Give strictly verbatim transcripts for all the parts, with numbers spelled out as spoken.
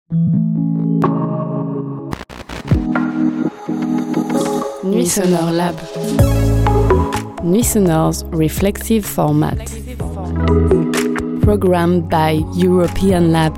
Nuit Sonore Lab. Nuit Sonore's reflexive format. Programmed by European Lab.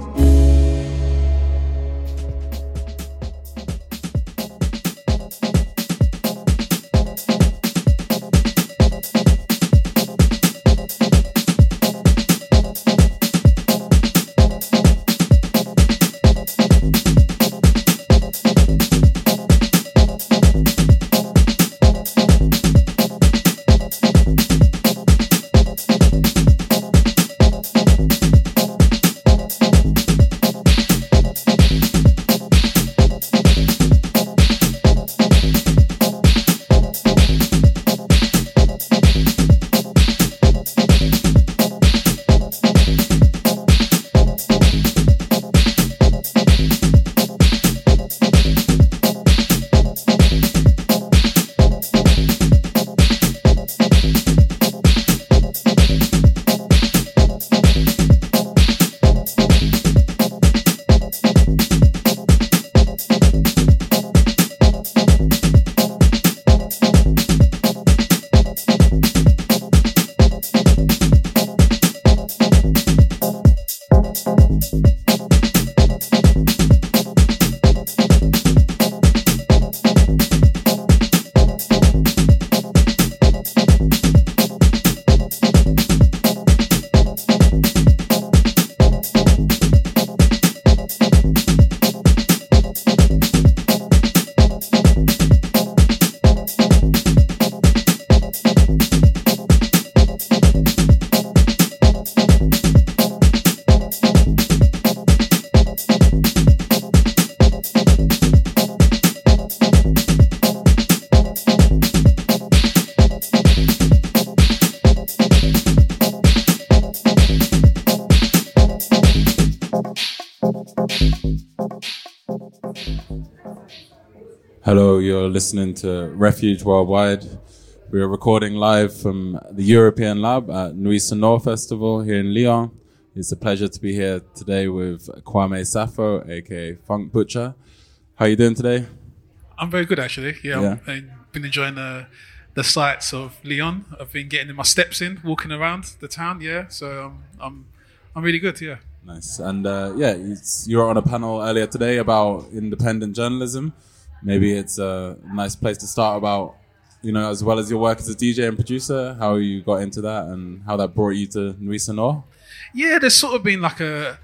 Hello, you're listening to Refuge Worldwide. We are recording live from the European Lab at Nuit Sonore Festival here in Lyon. It's a pleasure to be here today with Kwame Sappho, aka Funk Butcher. How are you doing today? I'm very good, actually. Yeah, Yeah. I've been enjoying the the sights of Lyon. I've been getting my steps in, walking around the town. Yeah, so um, I'm I'm really good. Yeah. Nice. And uh, yeah, it's, you were on a panel earlier today about independent journalism. Maybe it's a nice place to start about, you know, as well as your work as a D J and producer, how you got into that and how that brought you to Nuit Sonore. Yeah, there's sort of been like a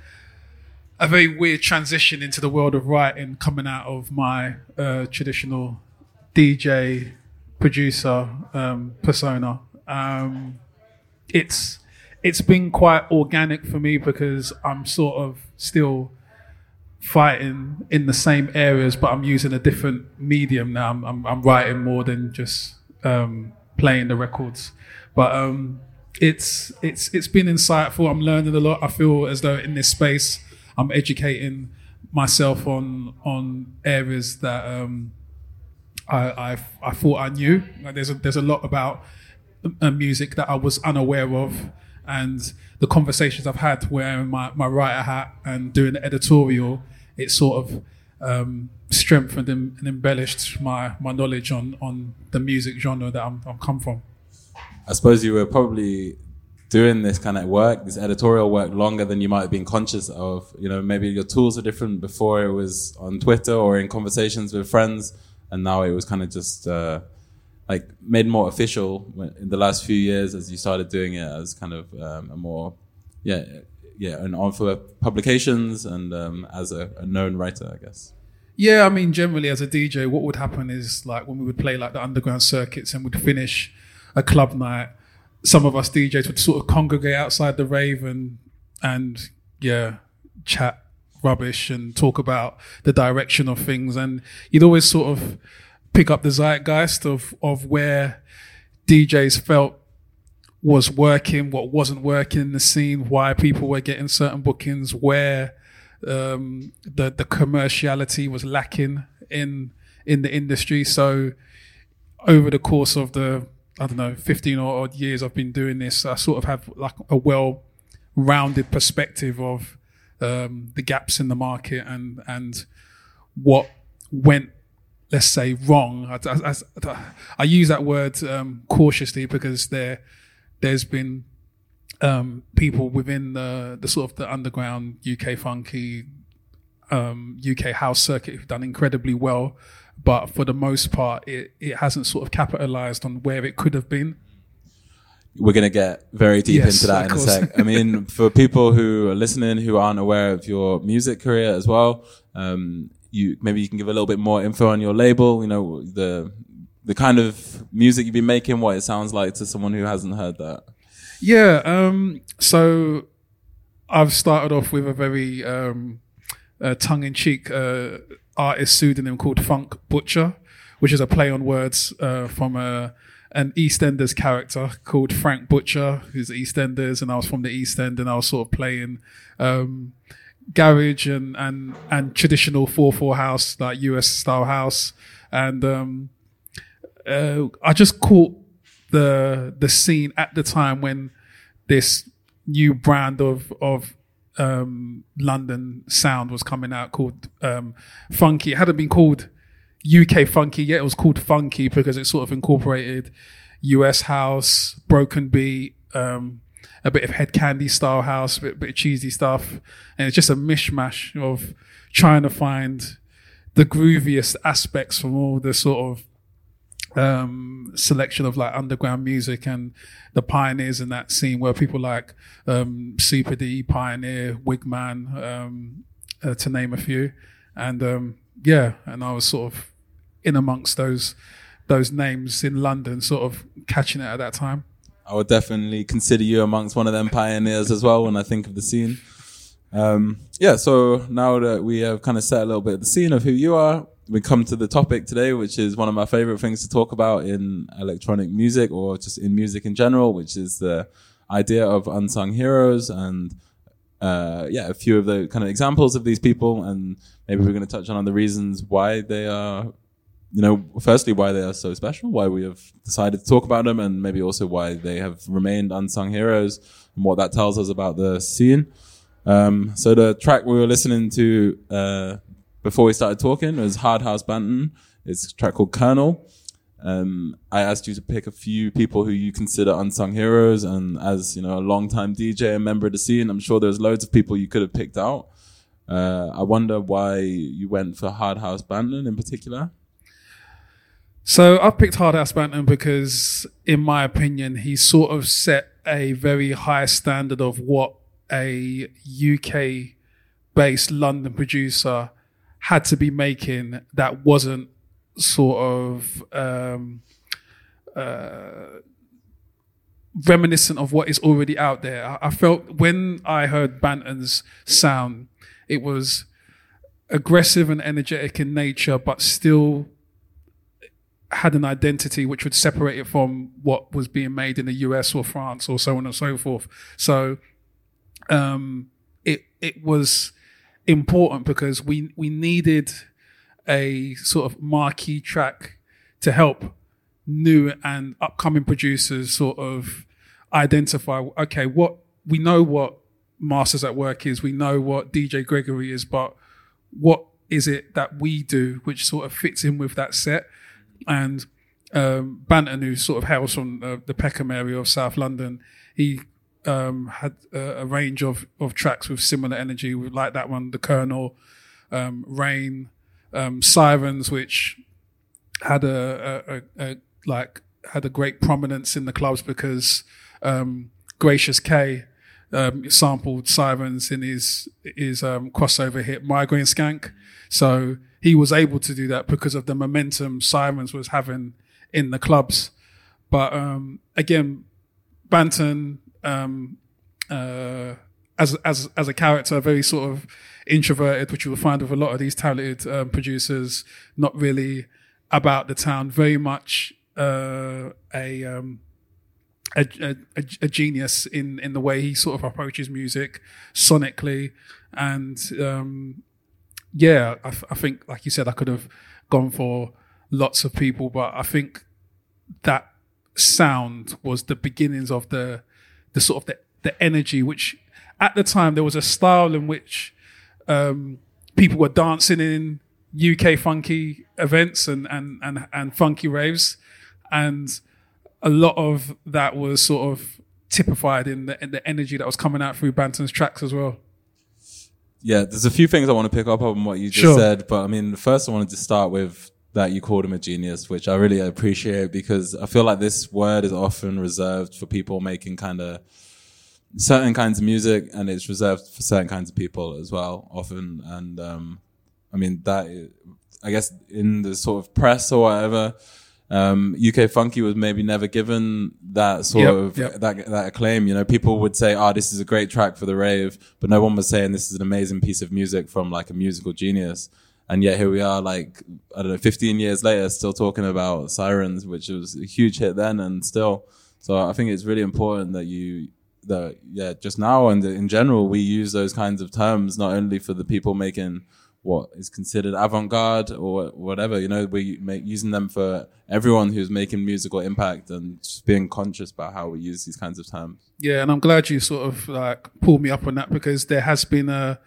a very weird transition into the world of writing coming out of my uh, traditional D J producer um, persona. Um, it's it's been quite organic for me because I'm sort of still fighting in the same areas, but I'm using a different medium now. I'm, I'm, I'm writing more than just um, playing the records. But um, it's it's it's been insightful. I'm learning a lot. I feel as though in this space, I'm educating myself on on areas that um, I I've, I thought I knew. Like there's a, there's a lot about uh, music that I was unaware of, and the conversations I've had wearing my, my writer hat and doing the editorial, it sort of um, strengthened and, and embellished my, my knowledge on, on the music genre that I'm, I'm come from. I suppose you were probably doing this kind of work, this editorial work, longer than you might have been conscious of. You know, maybe your tools are different. Before it was on Twitter or in conversations with friends, and now it was kind of just uh, like made more official in the last few years as you started doing it as kind of um, a more, yeah, yeah, and on for publications and um, as a, a known writer, I guess. Yeah, I mean, generally as a D J, what would happen is like when we would play like the underground circuits and we'd finish a club night, some of us D Js would sort of congregate outside the rave and, and yeah, chat rubbish and talk about the direction of things. And you'd always sort of pick up the zeitgeist of, of where D Js felt was working, what wasn't working in the scene, why people were getting certain bookings, where um, the the commerciality was lacking in in the industry. So over the course of the, I don't know, fifteen or odd years I've been doing this, I sort of have like a well-rounded perspective of um, the gaps in the market and and what went, let's say, wrong. I, I, I, I use that word um, cautiously because there there's been um, people within the the sort of the underground U K funky um, U K house circuit who've done incredibly well, but for the most part, it it hasn't sort of capitalized on where it could have been. We're going to get very deep Yes, into that in a course. sec. I mean, for people who are listening who aren't aware of your music career as well, um, you maybe you can give a little bit more info on your label, you know, the the kind of music you've been making, what it sounds like to someone who hasn't heard that. Yeah, um, so I've started off with a very um, uh, tongue-in-cheek uh, artist pseudonym called Funk Butcher, which is a play on words uh, from a an EastEnders character called Frank Butcher, who's the EastEnders, and I was from the East End, and I was sort of playing um, garage and, and, and traditional four four house, like U S style house. And um, uh, I just caught the the scene at the time when this new brand of of um, London sound was coming out called um, Funky. It hadn't been called U K funky yet. It was called Funky because it sort of incorporated U S house, broken beat, um, a bit of Head Candy style house, a bit, bit of cheesy stuff. And it's just a mishmash of trying to find the grooviest aspects from all the sort of um, selection of like underground music and the pioneers in that scene where people like um, Super D, Pioneer, Wigman, um, uh, to name a few. And um, yeah, and I was sort of in amongst those those names in London, sort of catching it at that time. I would definitely consider you amongst one of them pioneers as well when I think of the scene. Um, yeah, so now that we have kind of set a little bit of the scene of who you are, we come to the topic today, which is one of my favorite things to talk about in electronic music or just in music in general, which is the idea of unsung heroes and uh, yeah, a few of the kind of examples of these people, and maybe we're going to touch on the reasons why they are, you know, firstly, why they are so special, why we have decided to talk about them, and maybe also why they have remained unsung heroes and what that tells us about the scene. Um, so the track we were listening to uh, before we started talking was Hard House Banton. It's a track called Colonel. Um, I asked you to pick a few people who you consider unsung heroes, and as you know, a long-time D J and member of the scene, I'm sure there's loads of people you could have picked out. Uh, I wonder why you went for Hard House Banton in particular. So I picked Hard House Banton because, in my opinion, he sort of set a very high standard of what a U K-based London producer had to be making that wasn't sort of um, uh, reminiscent of what is already out there. I, I felt when I heard Banton's sound, it was aggressive and energetic in nature, but still had an identity which would separate it from what was being made in the U S or France or so on and so forth. So um, it it was important because we we needed a sort of marquee track to help new and upcoming producers sort of identify, okay, what we know what Masters at Work is, we know what D J Gregory is, but what is it that we do which sort of fits in with that set? And um, Banton, who sort of hails from uh, the Peckham area of South London, he um, had a, a range of, of tracks with similar energy, like that one, The Colonel, um, Rain, um, Sirens, which had a, a, a, a like had a great prominence in the clubs because um, Gracious K um, sampled Sirens in his his um, crossover hit Migraine Skank. So he was able to do that because of the momentum Sirens was having in the clubs. But um, again, Banton, um, uh, as as as a character, very sort of introverted, which you will find with a lot of these talented um, producers, not really about the town, very much uh, a, um, a, a a genius in in the way he sort of approaches music sonically, and um, yeah, I, I think, like you said, I could have gone for lots of people, but I think that sound was the beginnings of the the sort of the, the energy which at the time there was a style in which um, people were dancing in U K funky events and, and, and, and funky raves. And a lot of that was sort of typified in the, in the energy that was coming out through Banton's tracks as well. Yeah, there's a few things I want to pick up on what you just Sure. said, but I mean, first I wanted to start with that you called him a genius, which I really appreciate, because I feel like this word is often reserved for people making kind of certain kinds of music, and it's reserved for certain kinds of people as well, often. And um, I mean, that is, I guess in the sort of press or whatever, Um, U K funky was maybe never given that sort Yep, of yep. that that acclaim. You know, people would say, "Oh, this is a great track for the rave," but no one was saying this is an amazing piece of music from like a musical genius. And yet here we are, like I don't know, fifteen years later, still talking about Sirens, which was a huge hit then, and still. So I think it's really important that you that yeah, just now and in general, we use those kinds of terms not only for the people making what is considered avant-garde or whatever, you know, we make using them for everyone who's making musical impact, and just being conscious about how we use these kinds of terms. Yeah, and I'm glad you sort of like pulled me up on that, because there has been a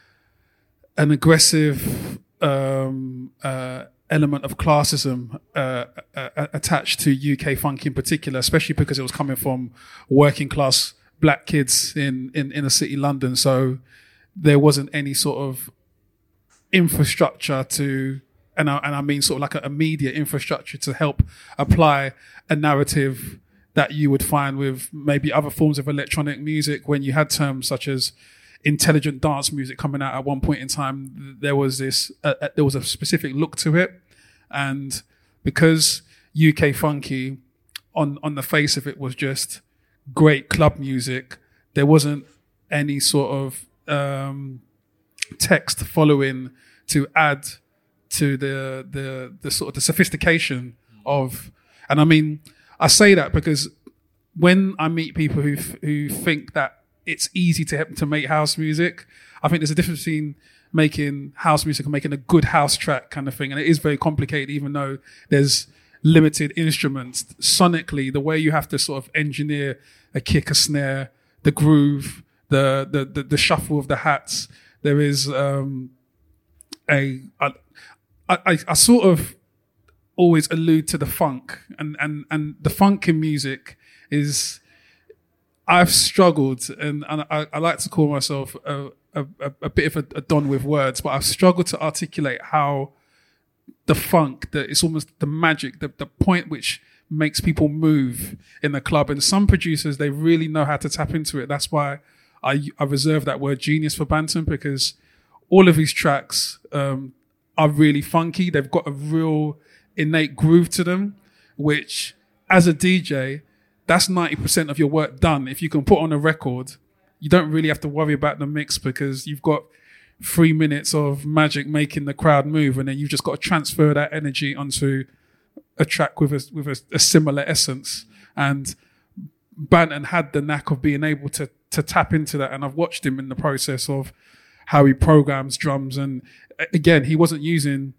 an aggressive um, uh, element of classism uh, uh, attached to U K funk in particular, especially because it was coming from working class black kids in, in inner city London. So there wasn't any sort of infrastructure to, and I, and I mean sort of like a, a media infrastructure to help apply a narrative that you would find with maybe other forms of electronic music. When you had terms such as intelligent dance music coming out at one point in time, there was this, uh, uh, there was a specific look to it. And because U K funky on, on the face of it was just great club music, there wasn't any sort of, um, text following to add to the the the sort of the sophistication of, and I mean I say that because when I meet people who who think that it's easy to to make house music, I think there's a difference between making house music and making a good house track kind of thing, and it is very complicated. Even though there's limited instruments, sonically, the way you have to sort of engineer a kick, a snare, the groove, the the the, the shuffle of the hats. There is um, a, I, I, I sort of always allude to the funk, and, and, and the funk in music is, I've struggled, and, and I, I like to call myself a, a, a bit of a, a don with words, but I've struggled to articulate how the funk, that it's almost the magic, the, the point which makes people move in the club. And some producers, they really know how to tap into it. That's why I, I reserve that word genius for Banton, because all of his tracks um, are really funky. They've got a real innate groove to them, which as a D J, that's ninety percent of your work done. If you can put on a record, you don't really have to worry about the mix, because you've got three minutes of magic making the crowd move, and then you've just got to transfer that energy onto a track with a, with a, a similar essence. And Banton had the knack of being able to to tap into that, and I've watched him in the process of how he programs drums. And again, he wasn't using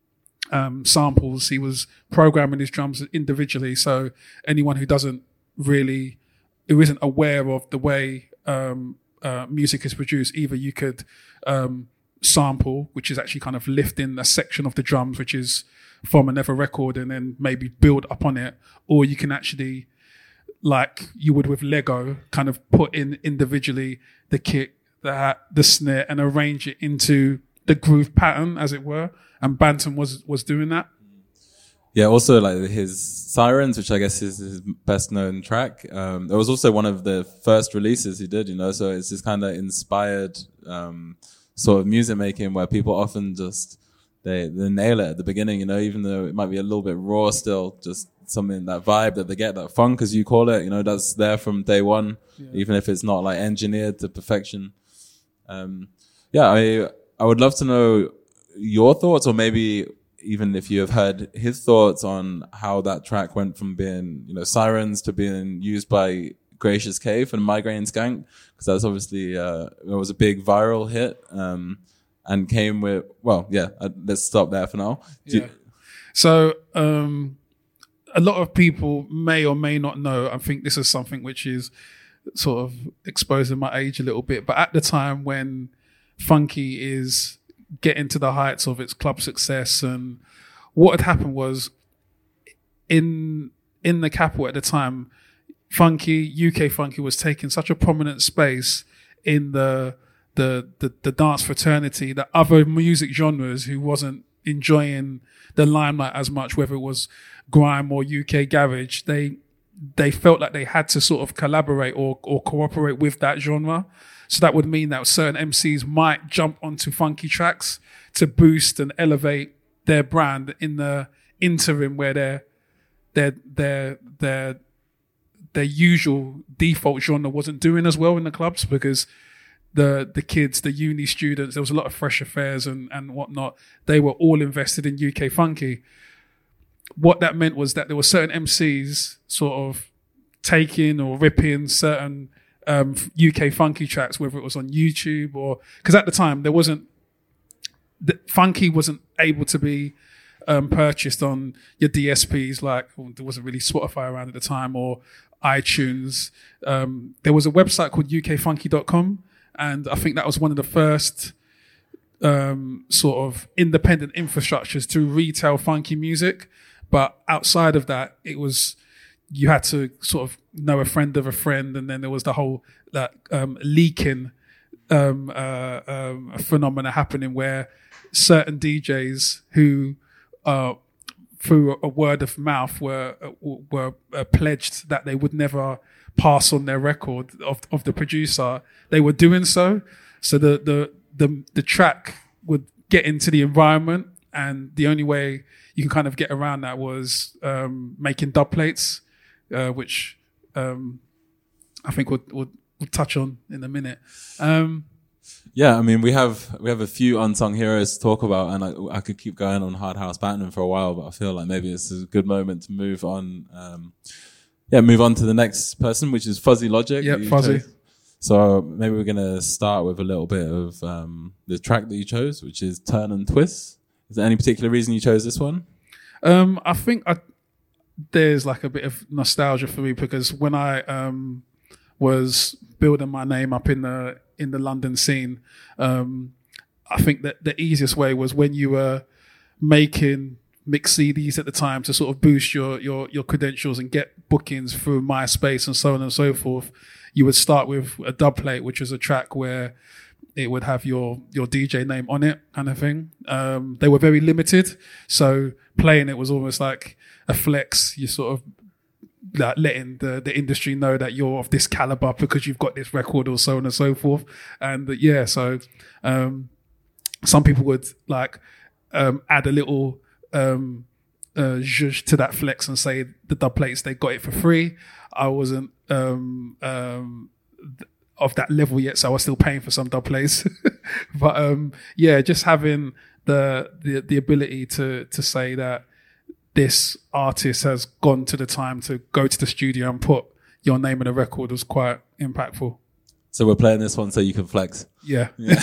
um, samples; he was programming his drums individually. So anyone who doesn't really, who isn't aware of the way um, uh, music is produced, either you could um, sample, which is actually kind of lifting a section of the drums, which is from another record, and then maybe build up on it, or you can actually, like you would with Lego, kind of put in individually the kick, the hat, the snare, and arrange it into the groove pattern, as it were. And Banton was was doing that. Yeah, also like his Sirens, which I guess is his best known track. Um, it was also one of the first releases he did, you know, so it's this kind of inspired um, sort of music making where people often just, they, they nail it at the beginning, you know, even though it might be a little bit raw still, just something, that vibe that they get, that funk as you call it, you know, that's there from day one, yeah. Even if it's not like engineered to perfection. Um, yeah, I, I would love to know your thoughts, or maybe even if you have heard his thoughts on how that track went from being, you know, Sirens to being used by Gracious K and Migraine Skank, because that's obviously, uh, it was a big viral hit, um, and came with, well, yeah, uh, let's stop there for now. Do yeah. You- so, um, a lot of people may or may not know, I think this is something which is sort of exposing my age a little bit. But at the time when funky is getting to the heights of its club success, and what had happened was in in the capital at the time, funky, U K funky was taking such a prominent space in the the the, the dance fraternity that other music genres who wasn't enjoying the limelight as much, whether it was grime or U K garage, they they felt like they had to sort of collaborate or or cooperate with that genre. So that would mean that certain M Cs might jump onto funky tracks to boost and elevate their brand in the interim where their their their their their usual default genre wasn't doing as well in the clubs, because the the kids, the uni students, there was a lot of fresh affairs and, and whatnot. They were all invested in U K funky. What that meant was that there were certain M Cs sort of taking or ripping certain um, U K funky tracks, whether it was on YouTube or, because at the time there wasn't, the, funky wasn't able to be um, purchased on your D S Ps, like well, there wasn't really Spotify around at the time, or iTunes. Um, there was a website called U K funky dot com, and I think that was one of the first um, sort of independent infrastructures to retail funky music. But outside of that, it was, you had to sort of know a friend of a friend, and then there was the whole that um, leaking um, uh, um, phenomena happening where certain D Js who, uh, through a word of mouth, were were uh, pledged that they would never pass on their record of of the producer. They were doing so, so the the the the track would get into the environment, and the only way you can kind of get around that was um, making dub plates, uh, which um, I think we'll, we'll, we'll touch on in a minute. Um, yeah, I mean, we have we have a few unsung heroes to talk about, and I, I could keep going on Hard House Batman for a while, but I feel like maybe this is a good moment to move on. Um, yeah, move on to the next person, which is Fuzzy Logic. Yeah, Fuzzy. Chose. So maybe we're going to start with a little bit of um, the track that you chose, which is Turn and Twist. Is there any particular reason you chose this one? Um, I think I, there's like a bit of nostalgia for me, because when I um, was building my name up in the in the London scene, um, I think that the easiest way was when you were making mix C Ds at the time to sort of boost your your your credentials and get bookings through MySpace and so on and so forth. You would start with a dub plate, which is a track where it would have your, your D J name on it, kind of thing. Um, they were very limited, so playing it was almost like a flex. You sort of like letting the, the industry know that you're of this caliber because you've got this record, or so on and so forth. And uh, yeah, so um, some people would like um, add a little um, uh, zhuzh to that flex and say the dub plates, they got it for free. I wasn't um, um, th- of that level yet, so I was still paying for some dub plays. But um, yeah, just having the, the the ability to to say that this artist has gone to the time to go to the studio and put your name in a record was quite impactful. So we're playing this one so you can flex. Yeah. yeah.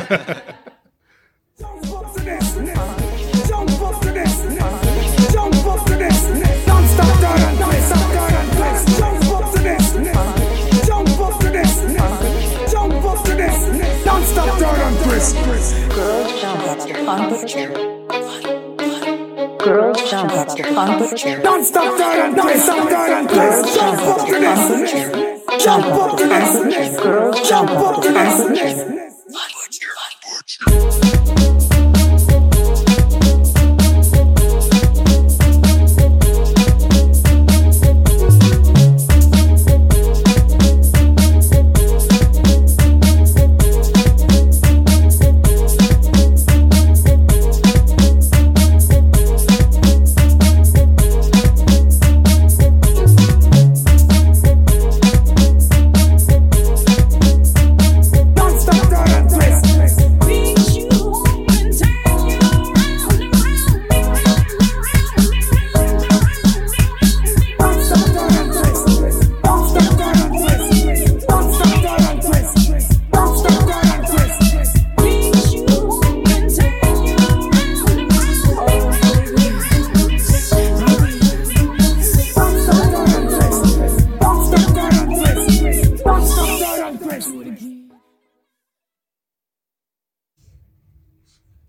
Jump up to this, jump up to this, jump up to this, don't stop, don't stop, don't twist, jump up to this, jump up to this, jump up to this, don't stop, don't twist. Girls jump up to Fun Butcher. Girls jump up to Fun Butcher. Don't stop, don't stop, don't twist, jump up to this, jump up to this, Girls jump up to this. Don't stop,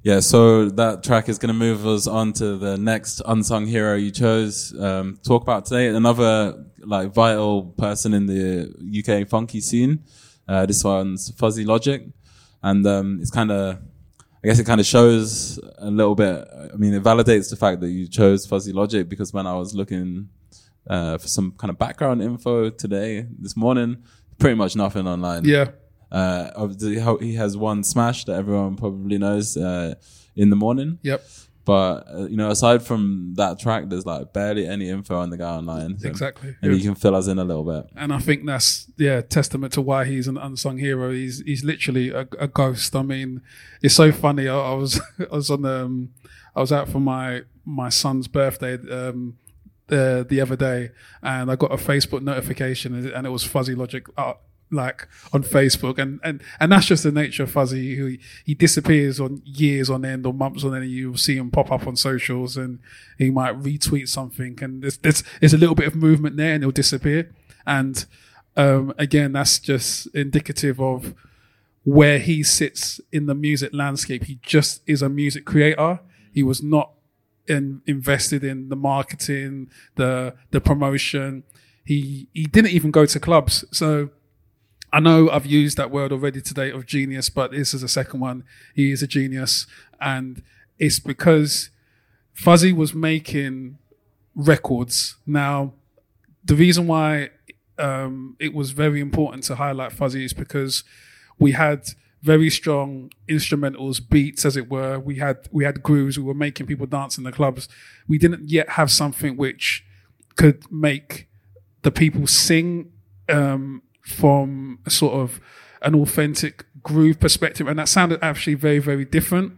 Yeah, so that track is going to move us on to the next unsung hero you chose. Um, talk about today another like vital person in the U K funky scene. Uh, this one's Fuzzy Logic, and um, it's kind of, I guess it kind of shows a little bit. I mean, it validates the fact that you chose Fuzzy Logic, because when I was looking uh, for some kind of background info today, this morning, pretty much nothing online. Yeah. Uh, of the, how he has one smash that everyone probably knows, uh, In the Morning. Yep. But, uh, you know, aside from that track, there's like barely any info on the guy online. So Exactly. maybe Yeah. you can fill us in a little bit. And I think that's, yeah, testament to why he's an unsung hero. He's he's literally a, a ghost. I mean, it's so funny. I, I was I was on the, um, I was out for my my son's birthday um, the the other day, and I got a Facebook notification, and it was Fuzzy Logic. Uh, like on Facebook, and, and, and that's just the nature of Fuzzy. Who he disappears on years on end or months on end, and you'll see him pop up on socials, and he might retweet something, and there's there's, there's a little bit of movement there, and he'll disappear. And um, again, that's just indicative of where he sits in the music landscape. He just is a music creator. He was not in, invested in the marketing, the the promotion. He he didn't even go to clubs. So I know I've used that word already today of genius, but this is a second one. He is a genius. And it's because Fuzzy was making records. Now, the reason why um, it was very important to highlight Fuzzy is because we had very strong instrumentals, beats, as it were. We had we had grooves. We were making people dance in the clubs. We didn't yet have something which could make the people sing um from a sort of an authentic groove perspective, and that sounded actually very, very different.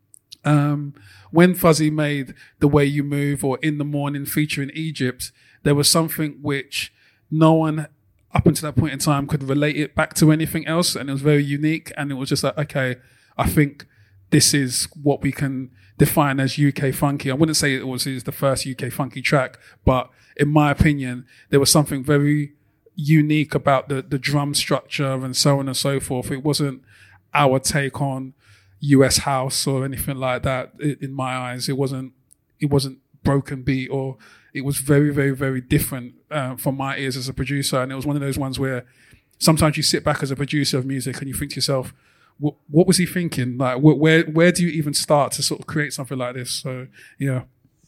Um, when Fuzzy made The Way You Move or In the Morning featuring Egypt, there was something which no one up until that point in time could relate it back to anything else, and it was very unique, and it was just like, okay, I think this is what we can define as U K funky. I wouldn't say it was, it was the first U K funky track, but in my opinion, there was something very unique about the, the drum structure and so on and so forth. It wasn't our take on U S house or anything like that. In my eyes, it wasn't, it wasn't broken beat, or it was very, very, very different uh, from my ears as a producer. And it was one of those ones where sometimes you sit back as a producer of music and you think to yourself, what, what was he thinking? Like, wh- where, where do you even start to sort of create something like this? So, yeah.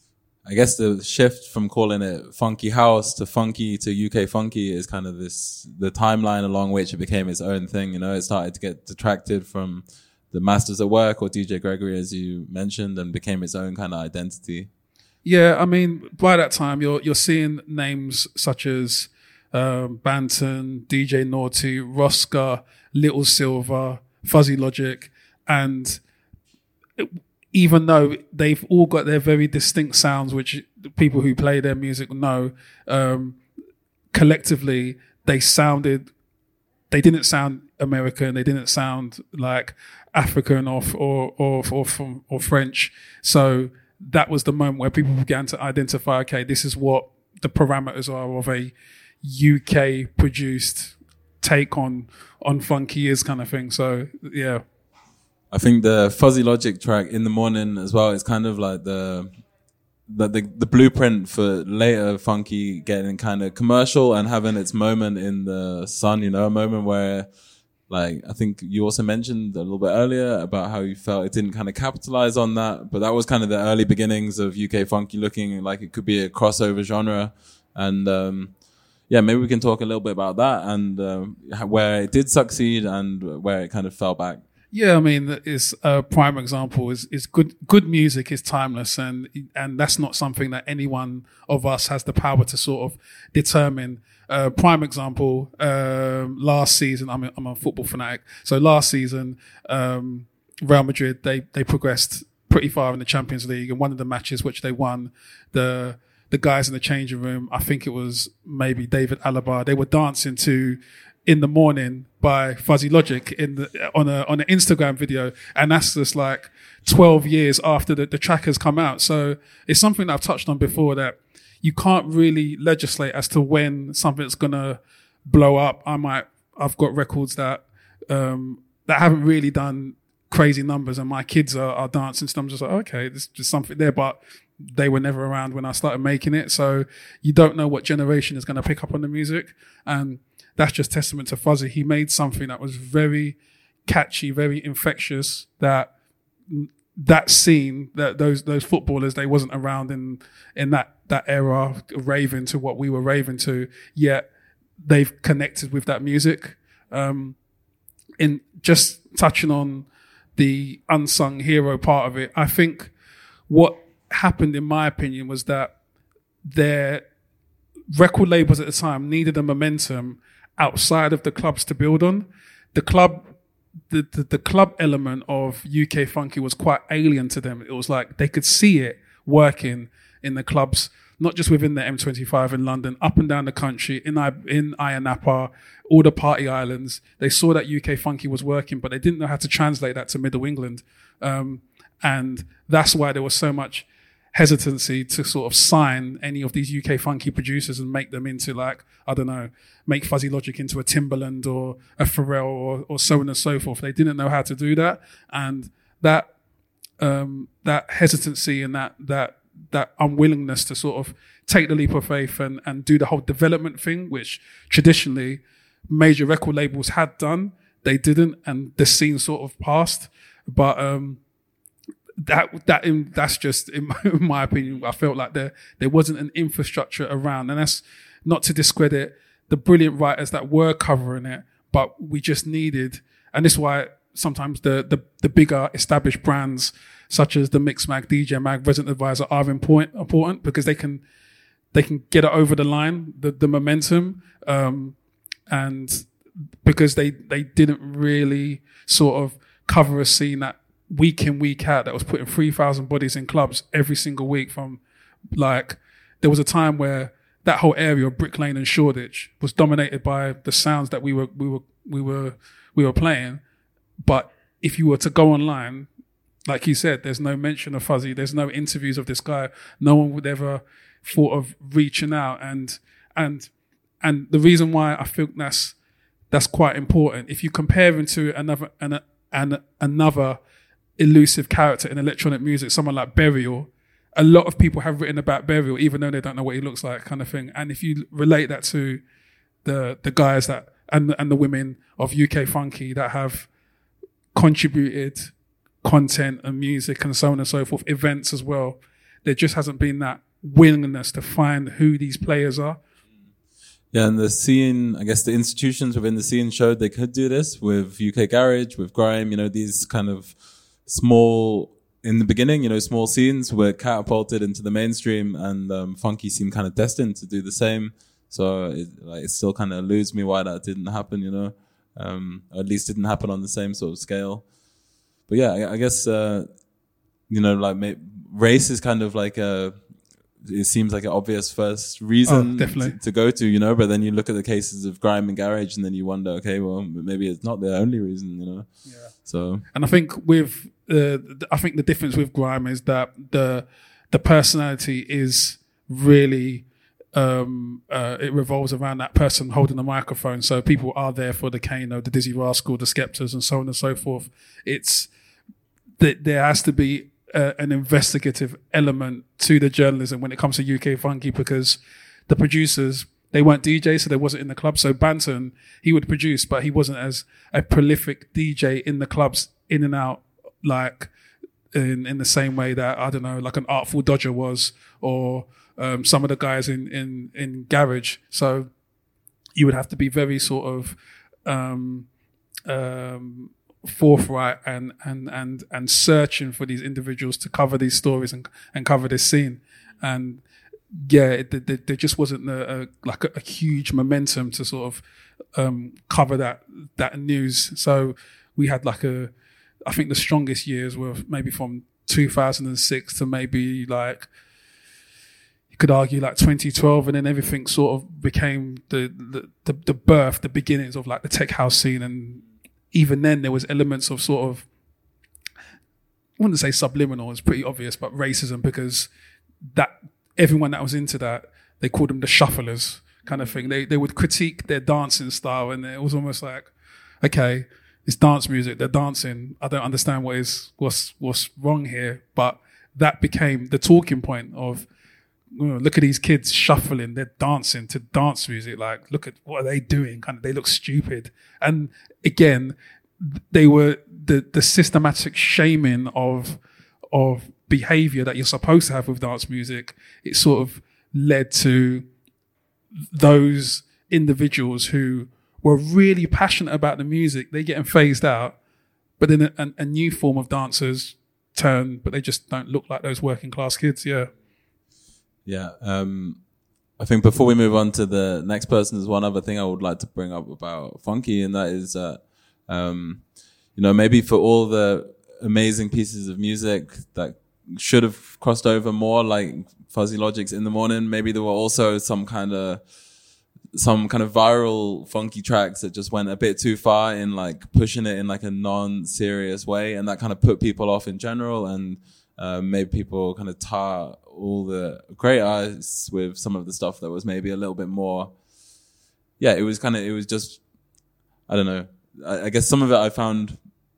I guess the shift from calling it funky house to funky to U K funky is kind of this, the timeline along which it became its own thing. You know, it started to get detracted from the Masters at Work or D J Gregory, as you mentioned, and became its own kind of identity. Yeah, I mean, by that time, you're you're seeing names such as um, Banton, D J Naughty, Rosca, Little Silver, Fuzzy Logic, and it, even though they've all got their very distinct sounds, which people who play their music know, um, collectively they sounded, they didn't sound American, they didn't sound like African or or or or, or, or French. So that was the moment where people began to identify, okay, this is what the parameters are of a U K produced take on on funky is, kind of thing. So yeah. I think the Fuzzy Logic track In the Morning as well is kind of like the the the, the blueprint for later funky getting kind of commercial and having its moment in the sun, you know, a moment where, like, I think you also mentioned a little bit earlier about how you felt it didn't kind of capitalize on that, but that was kind of the early beginnings of U K funky looking like it could be a crossover genre. And um yeah, maybe we can talk a little bit about that and um, where it did succeed and where it kind of fell back. Yeah, I mean, it's a prime example is is good. Good music is timeless, and and that's not something that any one of us has the power to sort of determine. Uh, prime example, um, last season, I'm a, I'm a football fanatic. So last season, um, Real Madrid they they progressed pretty far in the Champions League, and one of the matches which they won, the the guys in the changing room, I think it was maybe David Alaba, they were dancing to In the Morning by Fuzzy Logic in the, on a on an Instagram video, and that's just like twelve years after the, the track has come out. So it's something that I've touched on before, that you can't really legislate as to when something's gonna blow up. I might I've got records that um that haven't really done crazy numbers and my kids are, are dancing. So I'm just like, okay, there's just something there, but they were never around when I started making it. So you don't know what generation is going to pick up on the music. And that's just testament to Fuzzy. He made something that was very catchy, very infectious, that that scene, that those those footballers, they wasn't around in in that that era raving to what we were raving to, yet they've connected with that music. Um, in just touching on the unsung hero part of it, I think what happened, in my opinion, was that their record labels at the time needed a momentum outside of the clubs to build on. The club, the, the, the club element of U K Funky was quite alien to them. It was like they could see it working in the clubs, not just within the M twenty-five in London, up and down the country, in I, in Ayia Napa, all the party islands. They saw that U K Funky was working, but they didn't know how to translate that to Middle England. Um, and that's why there was so much hesitancy to sort of sign any of these U K Funky producers and make them into, like, I don't know, make Fuzzy Logic into a Timbaland or a Pharrell or, or so on and so forth. They didn't know how to do that. And that, um, that hesitancy and that, that, that unwillingness to sort of take the leap of faith and, and do the whole development thing, which traditionally major record labels had done, they didn't, and the scene sort of passed. But, um, That that in, that's just in my, in my opinion. I felt like there there wasn't an infrastructure around, and that's not to discredit the brilliant writers that were covering it, but we just needed, and this is why sometimes the the, the bigger established brands such as the Mixmag, D J Mag, Resident Advisor are important important because they can they can get it over the line, the the momentum, um, and because they they didn't really sort of cover a scene that week in, week out, that was putting three thousand bodies in clubs every single week. From, like, there was a time where that whole area of Brick Lane and Shoreditch was dominated by the sounds that we were, we were, we were, we were playing. But if you were to go online, like you said, there's no mention of Fuzzy. There's no interviews of this guy. No one would ever thought of reaching out. And, and, and the reason why I think that's, that's quite important. If you compare him to another, an, an, another, elusive character in electronic music, someone like Burial, a lot of people have written about Burial, even though they don't know what he looks like, kind of thing. And if you relate that to the the guys that and and the women of U K Funky that have contributed content and music and so on and so forth, events as well, there just hasn't been that willingness to find who these players are. Yeah, and the scene, I guess the institutions within the scene showed they could do this with U K Garage, with Grime, you know, these kind of small, in the beginning, you know, small scenes were catapulted into the mainstream, and um, Funky seemed kind of destined to do the same. So it, like, it still kind of eludes me why that didn't happen, you know, um, or at least didn't happen on the same sort of scale. But yeah, I, I guess, uh, you know, like may, race is kind of like a, it seems like an obvious first reason oh, to, to go to, you know, but then you look at the cases of Grime and Garage and then you wonder, okay, well, maybe it's not the only reason, you know. Yeah. So, and I think with, uh, I think the difference with Grime is that the, the personality is really, um, uh, it revolves around that person holding the microphone. So people are there for the Kano, the Dizzy Rascal, the Skeptors, and so on and so forth. It's that there has to be Uh, an investigative element to the journalism when it comes to U K Funky, because the producers, they weren't D Js, so they wasn't in the club. So Banton, he would produce, but he wasn't as a prolific D J in the clubs, in and out, like in in the same way that, I don't know, like an Artful Dodger was, or um, some of the guys in in in Garage. So you would have to be very sort of um, um, forthright and and and and searching for these individuals to cover these stories and and cover this scene. And yeah, it, it, there just wasn't a, a like a, a huge momentum to sort of um cover that that news. So we had like a, I think the strongest years were maybe from two thousand six to maybe, like, you could argue like twenty twelve, and then everything sort of became the the the, the birth, the beginnings of like the tech house scene. And even then there was elements of sort of, I wouldn't say subliminal, it's pretty obvious, but racism, because that everyone that was into that, they called them the shufflers kind of thing. They they would critique their dancing style, and it was almost like, okay, it's dance music. They're dancing. I don't understand what is what's what's wrong here. But that became the talking point of, you know, look at these kids shuffling. They're dancing to dance music. Like, look at what are they doing? Kind of, they look stupid. And again, they were the the systematic shaming of of behavior that you're supposed to have with dance music. It sort of led to those individuals who were really passionate about the music. They're getting phased out, but then a, a, a new form of dancers turn, but they just don't look like those working class kids. Yeah. Yeah. Um, I think before we move on to the next person, there's one other thing I would like to bring up about funky, and that is that, um, you know, maybe for all the amazing pieces of music that should have crossed over more, like Fuzzy Logic's In the Morning, maybe there were also some kind of some kind of viral funky tracks that just went a bit too far in like pushing it in like a non-serious way, and that kind of put people off in general, and uh, made people kind of tar all the great artists with some of the stuff that was maybe a little bit more, yeah, it was kind of, it was just, I don't know, I, I guess some of it I found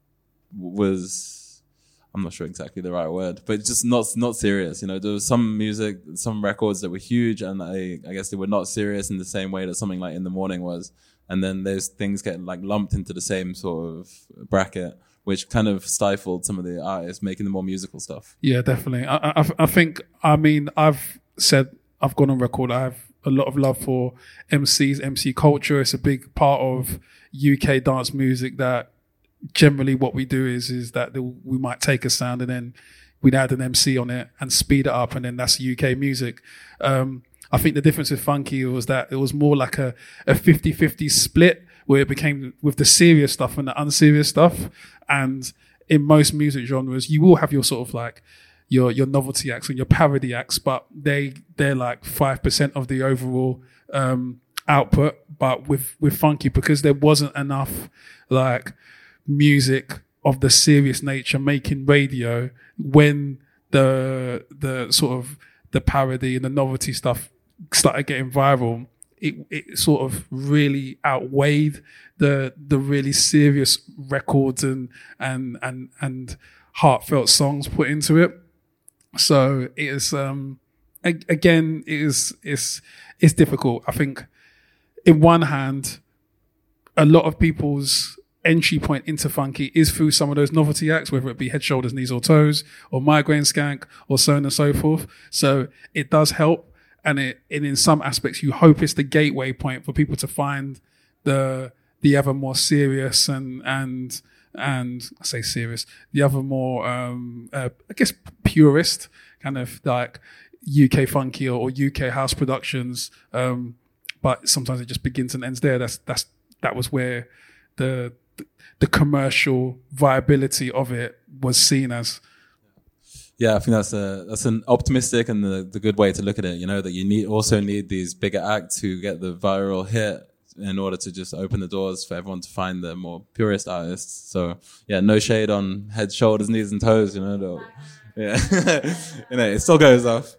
was, I'm not sure exactly the right word, but just not not serious. You know, there was some music, some records that were huge, and I, I guess they were not serious in the same way that something like In the Morning was. And then there's things getting like lumped into the same sort of bracket, which kind of stifled some of the artists making the more musical stuff. Yeah, definitely. I, I, I think, I mean, I've said, I've gone on record, I have a lot of love for M Cs, M C culture. It's a big part of U K dance music that generally what we do is is that we might take a sound and then we'd add an M C on it and speed it up, and then that's U K music. Um, I think the difference with funky was that it was more like a, a fifty-fifty split, where it became with the serious stuff and the unserious stuff. And in most music genres, you will have your sort of like your your novelty acts and your parody acts, but they they're like five percent of the overall um, output. But with with funky, because there wasn't enough like music of the serious nature making radio, when the the sort of the parody and the novelty stuff started getting viral, it it sort of really outweighed the the really serious records and and and and heartfelt songs put into it. So it is um again it is it's it's difficult. I think in one hand, a lot of people's entry point into funky is through some of those novelty acts, whether it be Head, Shoulders, Knees or Toes or Migraine Skank or so on and so forth. So it does help. And, it, and in some aspects, you hope it's the gateway point for people to find the the ever more serious and and and I say serious, the other more um, uh, I guess purist kind of like U K funky or, or U K house productions. Um, but sometimes it just begins and ends there. That's that's that was where the the commercial viability of it was seen as. Yeah, I think that's a that's an optimistic and the, the good way to look at it. You know, that you need also need these bigger acts who get the viral hit in order to just open the doors for everyone to find the more purist artists. So yeah, no shade on Head, Shoulders, Knees and Toes. You know, the, yeah, you know, it still goes off.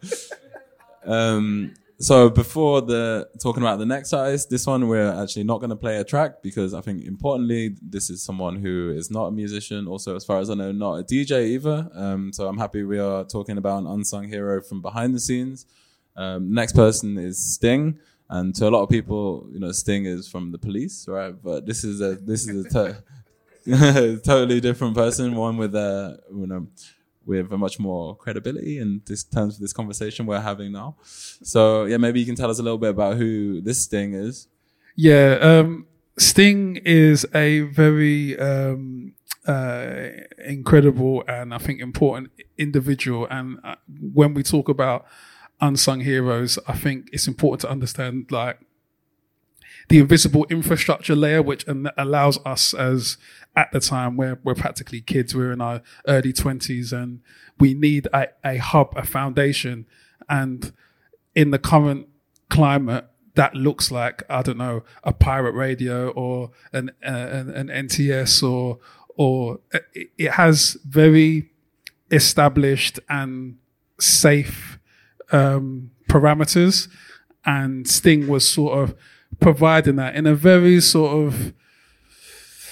Um, so before the talking about the next artist, this one we're actually not going to play a track because I think importantly this is someone who is not a musician, also as far as I know not a D J either. Um, so I'm happy we are talking about an unsung hero from behind the scenes. Um, next person is Sting, and to a lot of people, you know, Sting is from the Police, right? But this is a this is a to- totally different person, one with a you know. with a much more credibility in this terms of this conversation we're having now. So yeah, maybe you can tell us a little bit about who this Sting is. Yeah, um, Sting is a very um, uh, incredible and I think important individual. And uh, when we talk about unsung heroes, I think it's important to understand like the invisible infrastructure layer, which allows us as at the time where we're practically kids, we're in our early twenties and we need a, a hub, a foundation. And in the current climate, that looks like, I don't know, a pirate radio or an, uh, an, an N T S or, or it, it has very established and safe um, parameters. And Sting was sort of providing that in a very sort of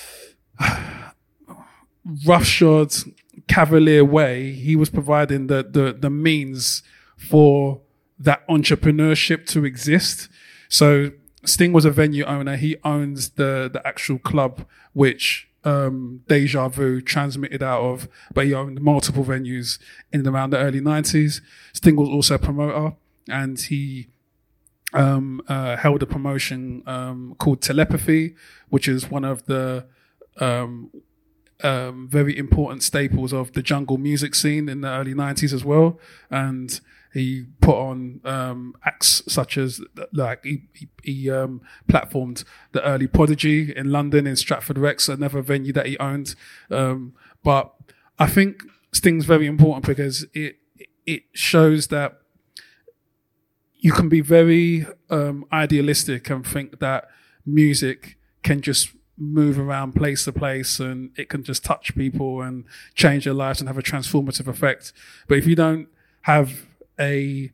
roughshod, cavalier way, he was providing the, the, the means for that entrepreneurship to exist. So Sting was a venue owner. He owns the, the actual club, which um, Deja Vu transmitted out of, but he owned multiple venues in and around the early nineties. Sting was also a promoter, and he um, uh, held a promotion um, called Telepathy, which is one of the um, um, very important staples of the jungle music scene in the early nineties as well. And he put on um, acts such as, like, he, he, he um, platformed the early Prodigy in London, in Stratford Rex, another venue that he owned. Um, but I think Sting's very important because it it shows that you can be very um, idealistic and think that music can just move around place to place and it can just touch people and change their lives and have a transformative effect. But if you don't have a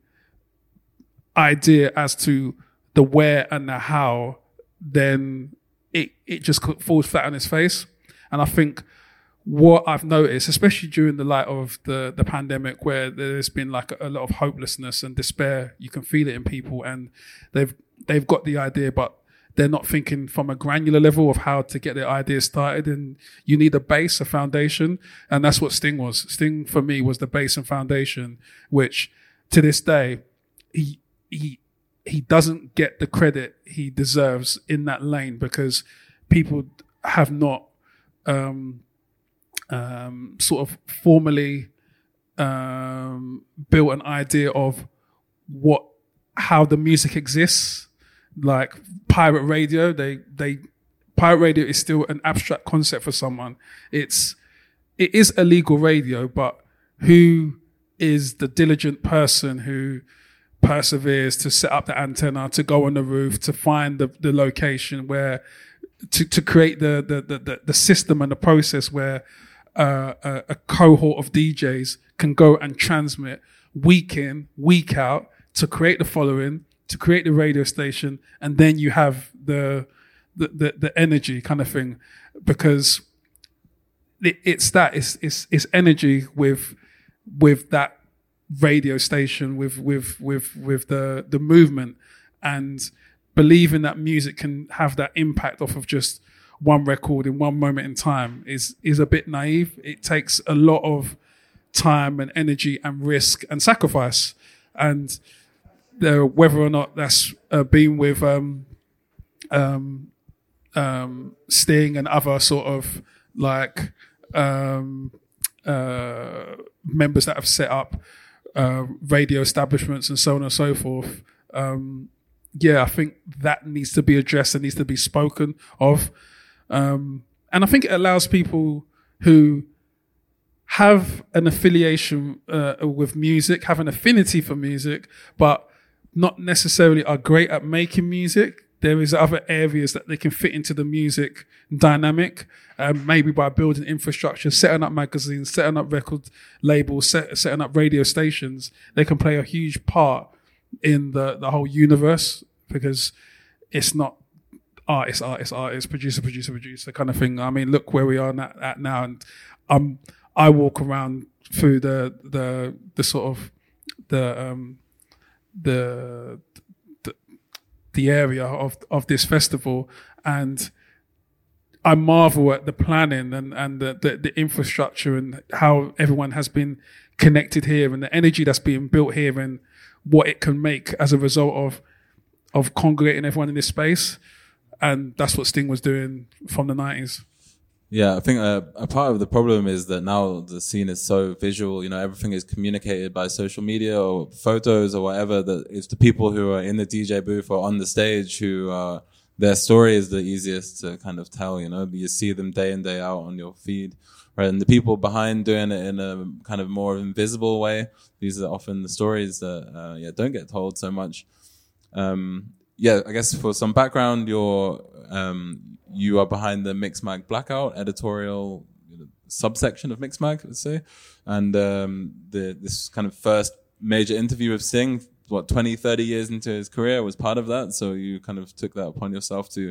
idea as to the where and the how, then it it just falls flat on its face. And I think what I've noticed, especially during the light of the the pandemic, where there's been like a, a lot of hopelessness and despair, you can feel it in people, and they've they've got the idea, but they're not thinking from a granular level of how to get their ideas started. And you need a base, a foundation, and that's what Sting was. Sting for me was the base and foundation, which to this day, he he he doesn't get the credit he deserves in that lane, because people have not um, um, sort of formally um, built an idea of what how the music exists. Like pirate radio, they they pirate radio is still an abstract concept for someone. It's it is illegal radio, but who is the diligent person who perseveres to set up the antenna, to go on the roof, to find the, the location where, to, to create the, the, the, the system and the process where uh, a, a cohort of D Js can go and transmit week in, week out, to create the following, to create the radio station, and then you have the the, the, the energy kind of thing. Because it, it's that, it's, it's, it's energy with with that radio station, with with with with the the movement, and believing that music can have that impact off of just one record in one moment in time is is a bit naive. It takes a lot of time and energy and risk and sacrifice, and uh, whether or not that's uh, been with um, um, um, Sting and other sort of like um, uh, members that have set up uh, radio establishments and so on and so forth. Um, yeah, I think that needs to be addressed and needs to be spoken of. Um, and I think it allows people who have an affiliation uh, with music, have an affinity for music, but not necessarily are great at making music. There is other areas that they can fit into the music dynamic, um, maybe by building infrastructure, setting up magazines, setting up record labels, set, setting up radio stations. They can play a huge part in the, the whole universe, because it's not artist, artist, artist, producer, producer, producer kind of thing. I mean, look where we are at, at now, and um, I walk around through the the the sort of the um, the the, the area of of this festival, and I marvel at the planning and and the, the the infrastructure and how everyone has been connected here, and the energy that's being built here, and what it can make as a result of of congregating everyone in this space. And that's what Sting was doing from the nineties. Yeah, I think a, a part of the problem is that now the scene is so visual. You know, everything is communicated by social media or photos or whatever. That it's the people who are in the D J booth or on the stage who uh, their story is the easiest to kind of tell. You know, you see them day in, day out on your feed, right? And the people behind doing it in a kind of more invisible way. These are often the stories that uh, yeah don't get told so much. Um, Yeah, I guess for some background, you're um, you are behind the Mixmag Blackout editorial you know, subsection of Mixmag, let's say, and um, the this kind of first major interview with Sting, what twenty, thirty years into his career, was part of that. So you kind of took that upon yourself to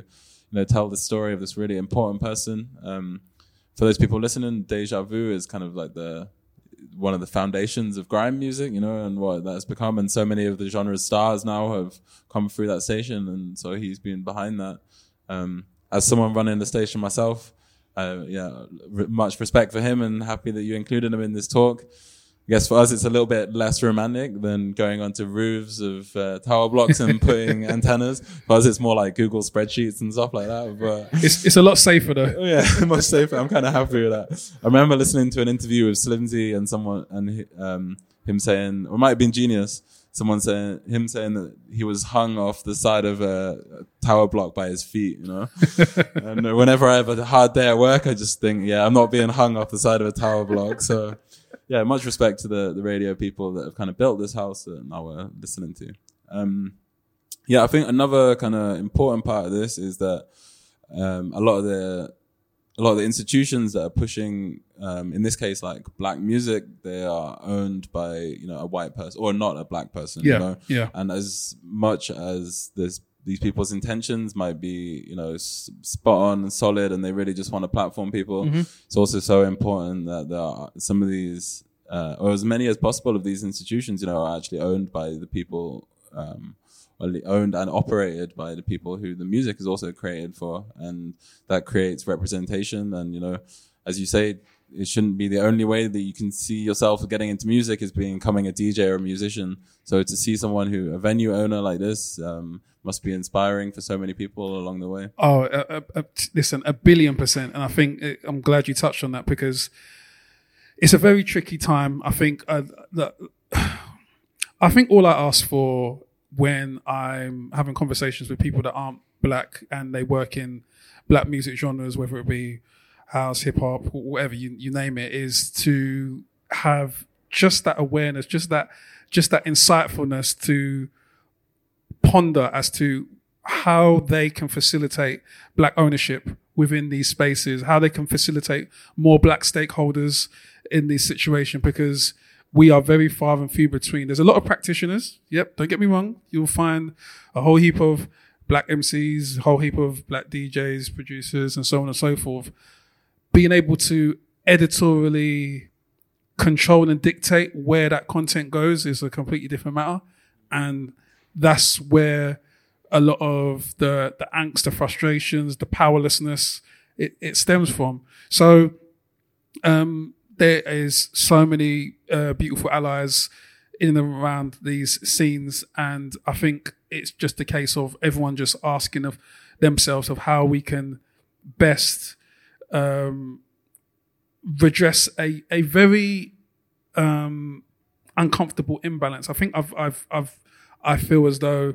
you know, tell the story of this really important person. Um, for those people listening, Deja Vu is kind of like the one of the foundations of grime music, you know, and what that's become. And so many of the genre's stars now have come through that station, and so he's been behind that. Um, as someone running the station myself, uh, yeah, r- much respect for him, and happy that you included him in this talk. I guess for us, it's a little bit less romantic than going onto roofs of uh, tower blocks and putting antennas. For us, it's more like Google spreadsheets and stuff like that. But It's it's a lot safer though. oh yeah, much safer. I'm kind of happy with that. I remember listening to an interview with Slimzy and someone, and he, um, him saying, or it might have been Genius, someone saying, him saying that he was hung off the side of a, a tower block by his feet, you know? And whenever I have a hard day at work, I just think, yeah, I'm not being hung off the side of a tower block. So yeah, much respect to the, the radio people that have kind of built this house that now we're listening to. Um, yeah, I think another kind of important part of this is that um, a lot of the a lot of the institutions that are pushing, um, in this case, like black music, they are owned by, you know, a white person or not a black person. Yeah, you know? yeah. And as much as this, these people's intentions might be, you know, s- spot on and solid, and they really just want to platform people, Mm-hmm. it's also so important that there are some of these, uh, or as many as possible of these institutions, you know, are actually owned by the people, um, only owned and operated by the people who the music is also created for, and that creates representation. And, you know, as you say, it shouldn't be the only way that you can see yourself getting into music is becoming a D J or a musician. So to see someone who, a venue owner like this, um, must be inspiring for so many people along the way. Oh, uh, uh, uh, listen, a billion percent. And I think uh, I'm glad you touched on that, because it's a very tricky time. I think uh, that, I think all I ask for when I'm having conversations with people that aren't black and they work in black music genres, whether it be house, hip hop, whatever you, you name it, is to have just that awareness, just that, just that insightfulness to ponder as to how they can facilitate black ownership within these spaces, how they can facilitate more black stakeholders in this situation, because we are very far and few between. There's a lot of practitioners. Yep, don't get me wrong. You'll find a whole heap of black M Cs, a whole heap of black D Js, producers, and so on and so forth. Being able to editorially control and dictate where that content goes is a completely different matter. And that's where a lot of the, the angst, the frustrations, the powerlessness, it, it stems from. So um, there is so many uh, beautiful allies in and around these scenes. And I think it's just a case of everyone just asking of themselves of how we can best um, redress a, a very um, uncomfortable imbalance. I think I've, I've, I've, I feel as though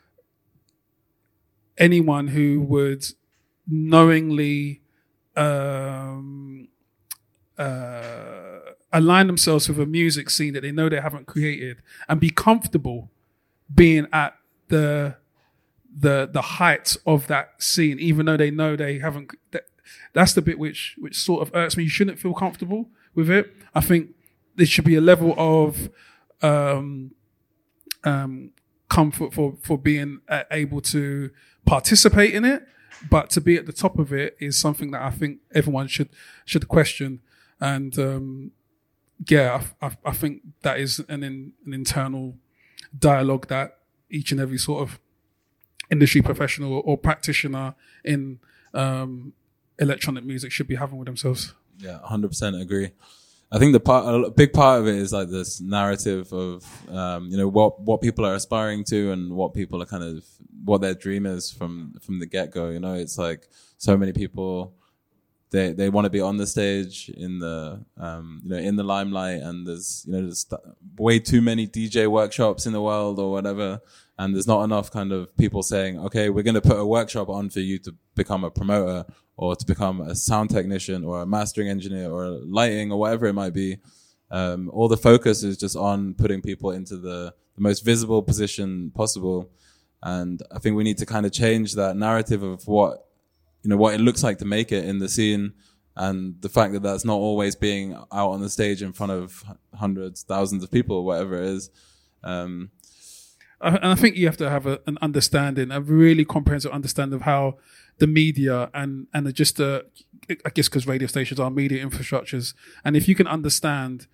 anyone who would knowingly um, uh, align themselves with a music scene that they know they haven't created and be comfortable being at the the the height of that scene, even though they know they haven't. That, that's the bit which which sort of irks me. You shouldn't feel comfortable with it. I think there should be a level of um, um, comfort for for being uh, able to participate in it, but to be at the top of it is something that I think everyone should should question. And um, yeah, I, I, I think that is an in, an internal dialogue that each and every sort of industry professional or, or practitioner in um, electronic music should be having with themselves. Yeah, one hundred percent agree. I think the part, a big part of it is like this narrative of, um, you know, what, what people are aspiring to and what people are kind of, what their dream is from, from the get go. You know, it's like so many people, they, they want to be on the stage in the, um, you know, in the limelight, and there's, you know, there's way too many D J workshops in the world or whatever. And there's not enough kind of people saying, okay, we're going to put a workshop on for you to become a promoter or to become a sound technician or a mastering engineer or lighting or whatever it might be. Um, all the focus is just on putting people into the, the most visible position possible. And I think we need to kind of change that narrative of what, you know, what it looks like to make it in the scene, and the fact that that's not always being out on the stage in front of hundreds, thousands of people, whatever it is. Um, I, and I think you have to have a, an understanding, a really comprehensive understanding of how the media and and just the, I guess because radio stations are media infrastructures, and if you can understand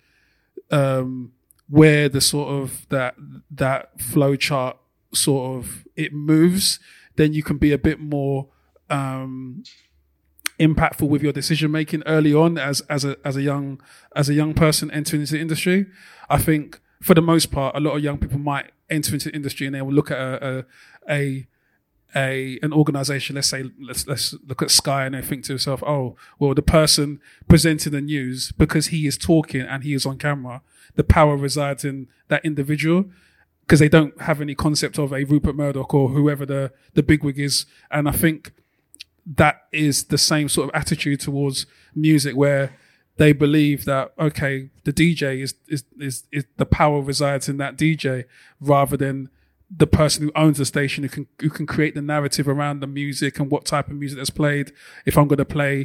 um, where the sort of that that flow chart sort of it moves, then you can be a bit more um, impactful with your decision making early on as as a as a young as a young person entering into the industry. I think for the most part, a lot of young people might enter into the industry and they will look at a a, a a an organization, let's say, let's let's look at Sky, and they think to themselves, oh, well, the person presenting the news, because he is talking and he is on camera, the power resides in that individual, because they don't have any concept of a Rupert Murdoch or whoever the, the bigwig is. And I think that is the same sort of attitude towards music, where they believe that, okay, the D J is, is, is, is the power resides in that D J rather than the person who owns the station, who can who can create the narrative around the music and what type of music that's played. If I'm going to play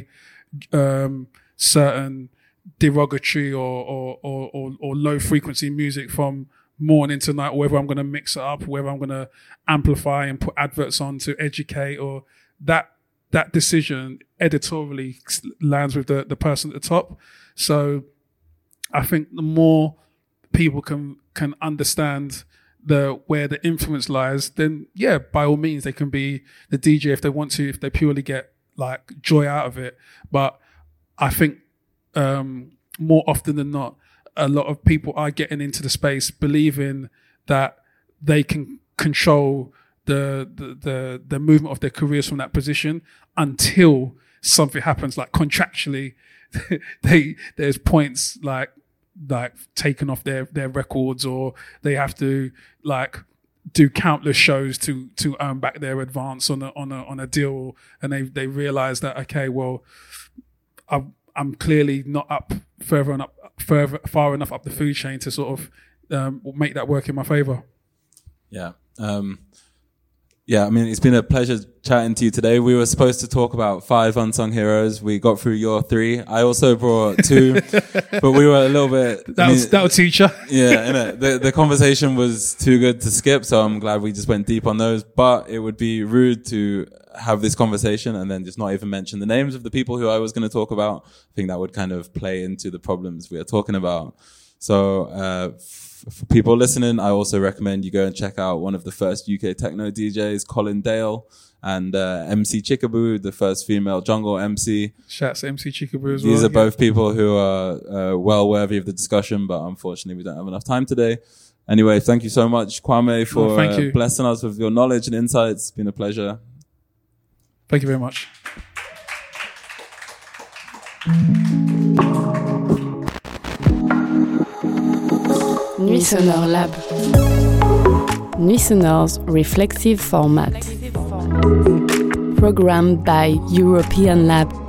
um, certain derogatory or or, or or or low frequency music from morning to night, or whether I'm going to mix it up, whether I'm going to amplify and put adverts on to educate, or that that decision editorially lands with the, the person at the top. So I think the more people can can understand the where the influence lies, then yeah, by all means they can be the D J if they want to, if they purely get like joy out of it. But I think um, more often than not, a lot of people are getting into the space believing that they can control the the the, the movement of their careers from that position until something happens, like contractually. they there's points like like taken off their, their records, or they have to like do countless shows to to earn back their advance on a on a on a deal, and they they realize that, okay, well, I'm I'm clearly not up further and up further far enough up the food chain to sort of um, make that work in my favor. Yeah. Um, yeah, I mean, it's been a pleasure chatting to you today. We were supposed to talk about five unsung heroes. We got through your three. I also brought two, but we were a little bit... That'll, I mean, that'll teach you. Yeah, innit? The, the conversation was too good to skip, so I'm glad we just went deep on those. But it would be rude to have this conversation and then just not even mention the names of the people who I was going to talk about. I think that would kind of play into the problems we are talking about. So uh, f- for people listening, I also recommend you go and check out one of the first U K techno D Js, Colin Dale, and uh, M C Chickaboo, the first female jungle M C. Shouts to M C Chickaboo as well. These are yeah. both people who are uh, well worthy of the discussion, but unfortunately we don't have enough time today. Anyway, thank you so much, Kwame, for oh, thank uh, you. blessing us with your knowledge and insights. It's been a pleasure. Thank you very much. Nuit Sonore Lab. Nuit Sonore's reflexive format. Programmed by European Lab.